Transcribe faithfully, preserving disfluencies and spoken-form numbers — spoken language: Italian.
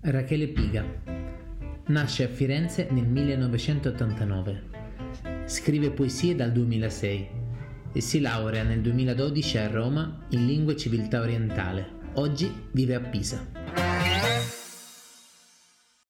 Rachele Piga. Nasce a Firenze nel millenovecentottantanove. Scrive poesie dal duemilasei e si laurea nel duemiladodici a Roma in Lingua e Civiltà Orientale. Oggi vive a Pisa.